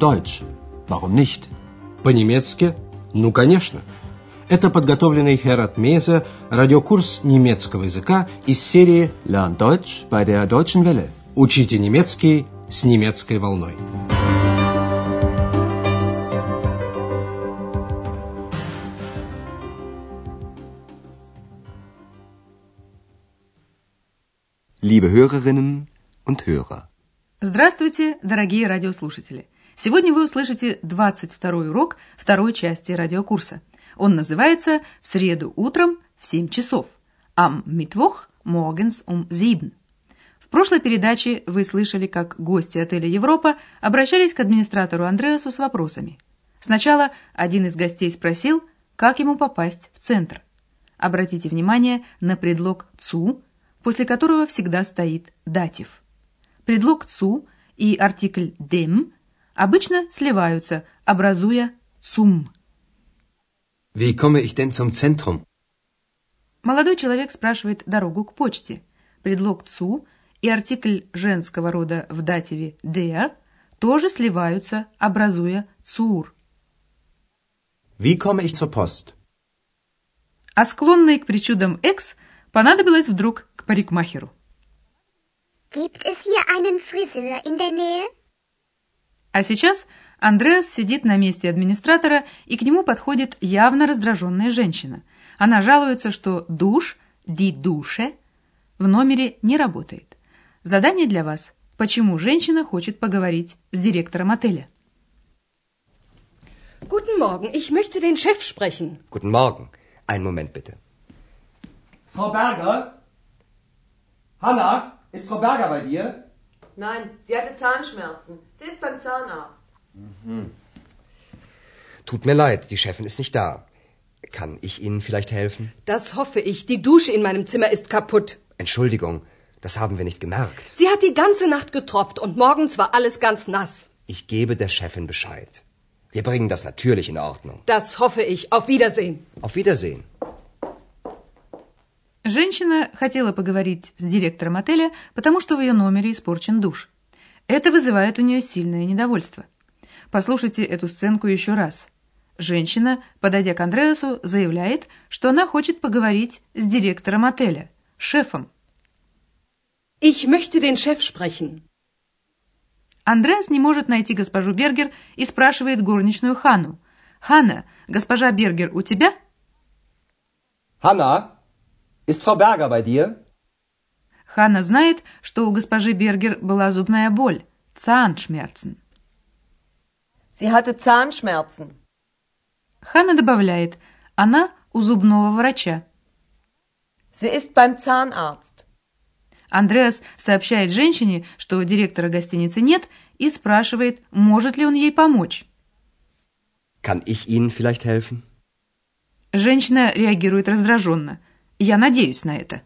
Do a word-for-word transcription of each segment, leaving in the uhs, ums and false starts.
Deutsch. Warum nicht? По-немецки? Ну, конечно. Это подготовленный Херат Мейзе радиокурс немецкого языка из серии Lern Deutsch bei der Deutschen Welle. Учите немецкий с немецкой волной. Liebe Hörerinnen und Hörer. Здравствуйте, дорогие радиослушатели! Сегодня вы услышите двадцать второй урок второй части радиокурса. Он называется «В среду утром в семь часов». Am Mittwoch morgens um sieben. В прошлой передаче вы слышали, как гости отеля «Европа» обращались к администратору Андреасу с вопросами. Сначала один из гостей спросил, как ему попасть в центр. Обратите внимание на предлог «zu», после которого всегда стоит датив. Предлог «zu» и артикль «dem» обычно сливаются, образуя «zum». Wie komme ich denn zum Zentrum? Молодой человек спрашивает дорогу к почте. Предлог «zu» и артикль женского рода в дативе «der» тоже сливаются, образуя «zur». Wie komme ich zur Post? А склонной к причудам Экс понадобилось вдруг к парикмахеру. Gibt es hier einen Friseur in der Nähe? А сейчас Андреас сидит на месте администратора, и к нему подходит явно раздраженная женщина. Она жалуется, что душ, die Dusche, в номере не работает. Задание для вас. Почему женщина хочет поговорить с директором отеля? Guten Morgen, ich möchte den Chef sprechen. Guten Morgen. Einen Moment bitte. Frau Berger? Hanna, ist Frau Berger bei dir? Nein, sie hatte Zahnschmerzen. Sie ist beim Zahnarzt. Mhm. Tut mir leid, die Chefin ist nicht da. Kann ich Ihnen vielleicht helfen? Das hoffe ich. Die Dusche in meinem Zimmer ist kaputt. Entschuldigung, das haben wir nicht gemerkt. Sie hat die ganze Nacht getropft und morgens war alles ganz nass. Ich gebe der Chefin Bescheid. Wir bringen das natürlich in Ordnung. Das hoffe ich. Auf Wiedersehen. Auf Wiedersehen. Женщина хотела поговорить с директором отеля, потому что в ее номере испорчен душ. Это вызывает у нее сильное недовольство. Послушайте эту сценку еще раз. Женщина, подойдя к Андреасу, заявляет, что она хочет поговорить с директором отеля, шефом. Ich möchte den Chef sprechen. Андреас не может найти госпожу Бергер и спрашивает горничную Ханну. «Ханна, госпожа Бергер у тебя?» Hanna, ist Frau Berger bei dir? Ханна знает, что у госпожи Бергер была зубная боль, Zahnschmerzen. Sie hatte Zahnschmerzen. Ханна добавляет, она у зубного врача. Sie ist beim Zahnarzt. Андреас сообщает женщине, что директора гостиницы нет, и спрашивает, может ли он ей помочь. Kann ich Ihnen vielleicht helfen? Женщина реагирует раздраженно. Я надеюсь на это.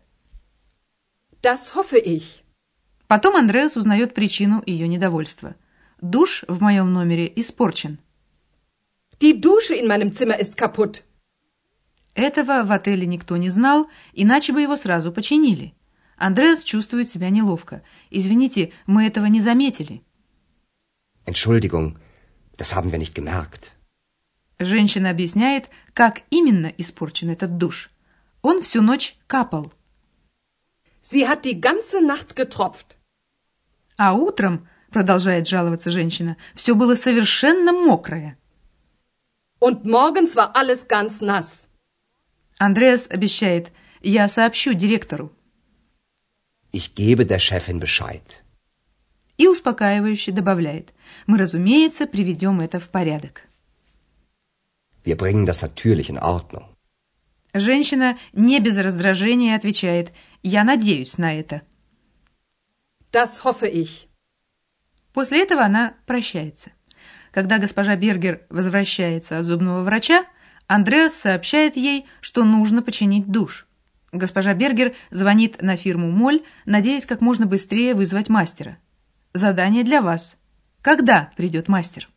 Das hoffe ich. Потом Андреас узнает причину ее недовольства. Душ в моем номере испорчен. Die Dusche in meinem Zimmer ist kaputt. Этого в отеле никто не знал, иначе бы его сразу починили. Андреас чувствует себя неловко. Извините, мы этого не заметили. Entschuldigung, das haben wir nicht gemerkt. Женщина объясняет, как именно испорчен этот душ. Он всю ночь капал. Sie hat die ganze Nacht getropft. А утром, продолжает жаловаться женщина, все было совершенно мокрое. Und morgens war alles ganz nass. Андреас обещает, я сообщу директору. Ich gebe der Chefin Bescheid. И успокаивающе добавляет, мы, разумеется, приведем это в порядок. Wir bringen das natürlich in Ordnung. Женщина не без раздражения отвечает, я надеюсь на это. Das hoffe ich. После этого она прощается. Когда госпожа Бергер возвращается от зубного врача, Андреас сообщает ей, что нужно починить душ. Госпожа Бергер звонит на фирму Моль, надеясь как можно быстрее вызвать мастера. Задание для вас. Когда придет мастер?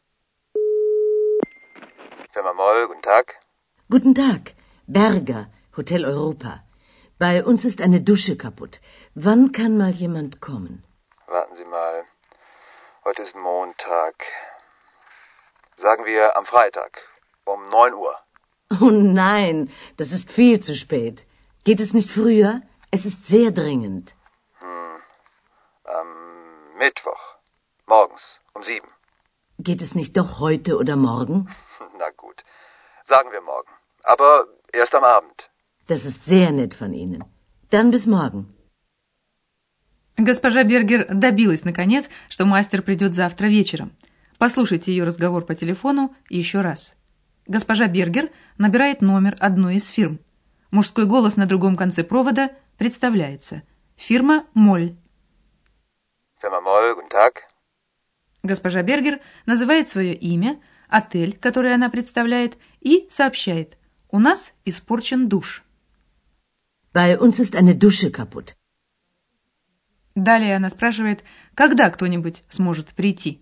Firma Moll, guten Tag. Guten Tag, Berger, Hotel Europa. Bei uns ist eine Dusche kaputt. Wann kann mal jemand kommen? Warten Sie mal. Heute ist Montag. Sagen wir am Freitag um neun Uhr. Oh nein, das ist viel zu spät. Geht es nicht früher? Es ist sehr dringend. Hm. Am Mittwoch. Morgens um sieben. Geht es nicht doch heute oder morgen? Na gut. Sagen wir morgen. Aber erst am Abend. Das ist sehr nett von Ihnen. Dann bis morgen. Госпожа Бергер добилась, наконец, что мастер придет завтра вечером. Послушайте ее разговор по телефону еще раз. Госпожа Бергер набирает номер одной из фирм. Мужской голос на другом конце провода представляется. Фирма «Моль». Firma Moll, guten Tag. Госпожа Бергер называет свое имя, отель, который она представляет, и сообщает. У нас испорчен душ. Bei uns ist eine Dusche kaputt. Далее она спрашивает, когда кто-нибудь сможет прийти.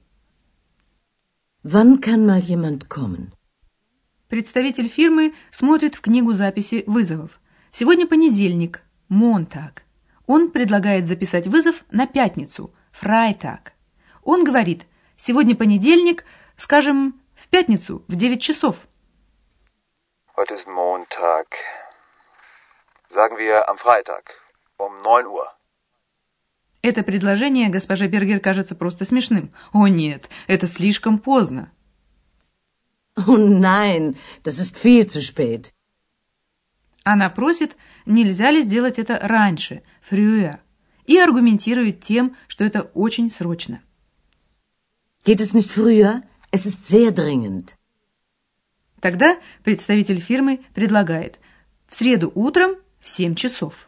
Wann kann mal jemand kommen? Представитель фирмы смотрит в книгу записи вызовов. Сегодня понедельник, Montag. Он предлагает записать вызов на пятницу, Freitag. Он говорит, сегодня понедельник, скажем, в пятницу в девять часов. Heute ist Montag. Sagen wir am Freitag um neun Uhr. Это предложение госпоже Бергер кажется просто смешным. О нет, это слишком поздно. Oh nein, das ist viel zu spät. Она просит, нельзя ли сделать это раньше, früher, и аргументирует тем, что это очень срочно. Geht es nicht früher? Es ist sehr dringend. Тогда представитель фирмы предлагает в среду утром в семь часов.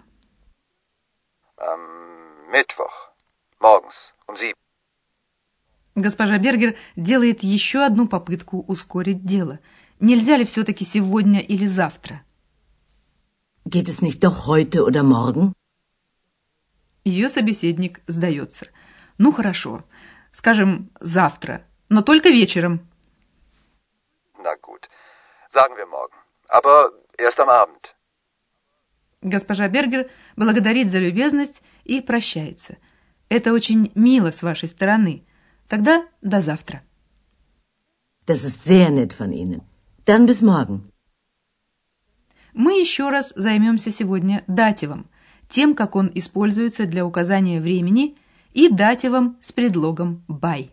Am Mittwoch. Morgens um sieben. Госпожа Бергер делает еще одну попытку ускорить дело. Нельзя ли все-таки сегодня или завтра? Geht es nicht doch heute oder morgen? Ее собеседник сдается. Ну хорошо, скажем, завтра, но только вечером. Na gut. Sagen wir morgen. Aber erst am Abend. Госпожа Бергер благодарит за любезность и прощается. Это очень мило с вашей стороны. Тогда до завтра. Das ist sehr nett von Ihnen. Dann bis morgen. Мы еще раз займемся сегодня дативом, тем, как он используется для указания времени, и дативом с предлогом by.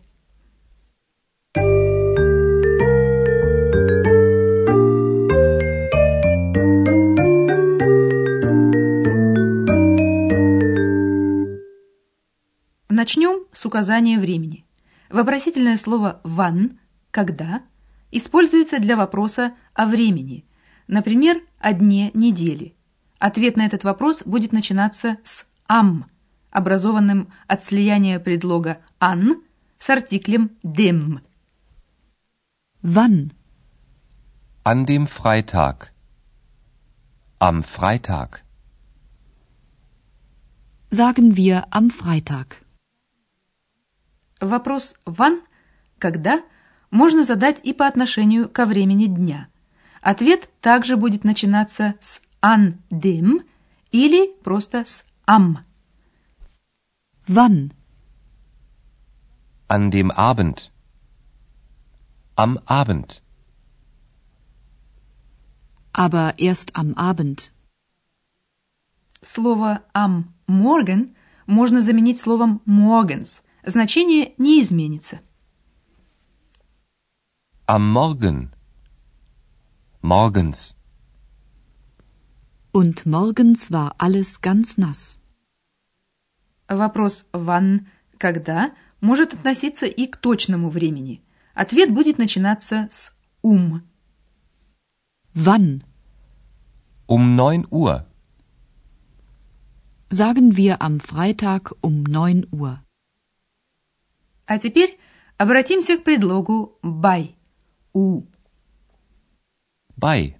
Начнем с указания времени. Вопросительное слово «wann» – «когда» используется для вопроса о времени, например, о дне недели. Ответ на этот вопрос будет начинаться с «am», образованным от слияния предлога «an» с артиклем «dem». Wann? An dem Freitag. Am Freitag. Sagen wir am Freitag. Вопрос «wann» – «когда» можно задать и по отношению ко времени дня. Ответ также будет начинаться с «an dem» или просто с «am». Wann? An dem Abend. Am Abend. Aber erst am Abend. Слово «am morgen» можно заменить словом «morgens». Значение не изменится. Am Morgen. Morgens. Und morgens war alles ganz nass. Вопрос «wann» – «когда» может относиться и к точному времени. Ответ будет начинаться с «um». Wann? Um neun Uhr. Sagen wir am Freitag um neun Uhr. А теперь обратимся к предлогу by. У. By.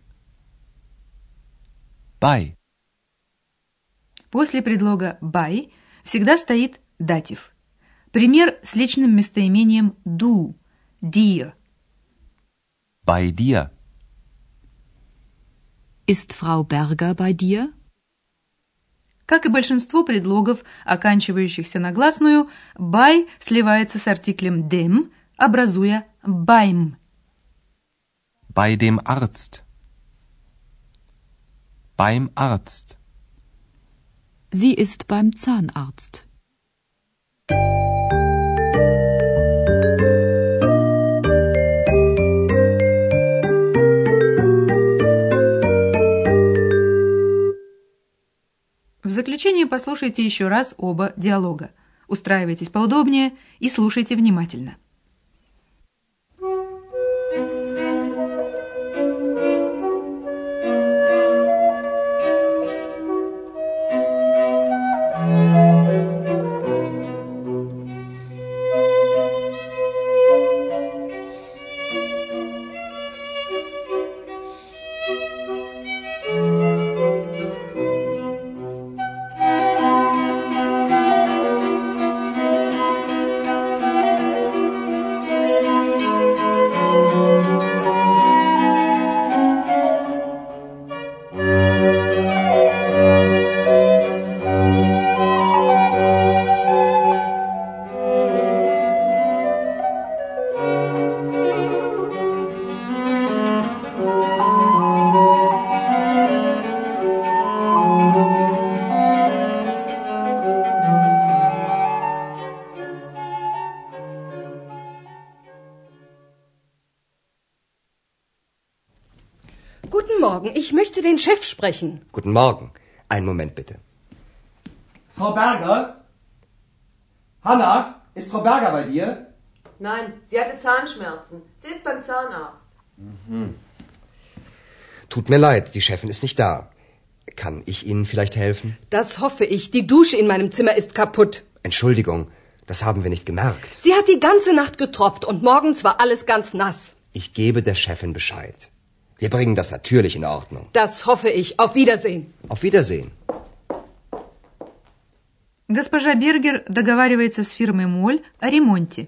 By. После предлога by всегда стоит датив. Пример с личным местоимением du, dir. Bei dir. Ist Frau Berger bei dir? Как и большинство предлогов, оканчивающихся на гласную, by сливается с артиклем dem, образуя beim. Bei dem Arzt. Beim Arzt. Sie ist beim Zahnarzt. В заключение послушайте еще раз оба диалога. Устраивайтесь поудобнее и слушайте внимательно. Guten Morgen, ich möchte den Chef sprechen. Guten Morgen. Einen Moment bitte. Frau Berger? Hanna, ist Frau Berger bei dir? Nein, sie hatte Zahnschmerzen. Sie ist beim Zahnarzt. Mhm. Tut mir leid, die Chefin ist nicht da. Kann ich Ihnen vielleicht helfen? Das hoffe ich. Die Dusche in meinem Zimmer ist kaputt. Entschuldigung, das haben wir nicht gemerkt. Sie hat die ganze Nacht getropft und morgens war alles ganz nass. Ich gebe der Chefin Bescheid. Wir bringen das natürlich in Ordnung. Das hoffe ich. Auf Wiedersehen. Auf Wiedersehen. Госпожа Бергер договаривается с фирмой Моль о ремонте.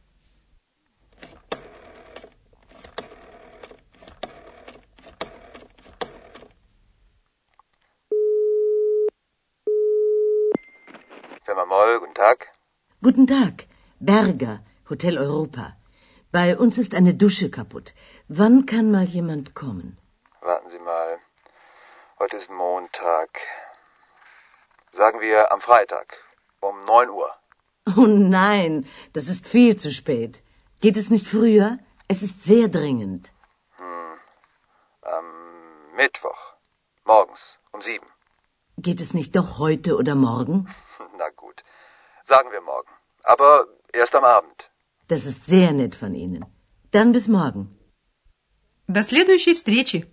Firma Moll, guten Tag. Guten Tag, Berger, Hotel Europa. Bei uns ist eine Dusche kaputt. Wann kann mal jemand kommen? Warten Sie mal. Heute ist Montag. Sagen wir am Freitag um neun Uhr. Oh nein, das ist viel zu spät. Geht es nicht früher? Es ist sehr dringend. Hm. Am Mittwoch. Morgens um sieben. Geht es nicht doch heute oder morgen? Na gut. Sagen wir morgen. Aber erst am Abend. Das ist sehr nett von Ihnen. Dann bis morgen. До следующей встречи.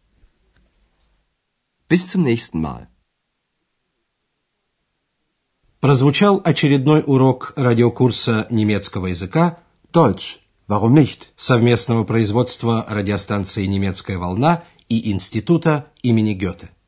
Bis zum nächsten Mal. Прозвучал очередной урок радиокурса немецкого языка Deutsch. Warum nicht? совместного производства радиостанции «Немецкая волна» и Института имени Гёте.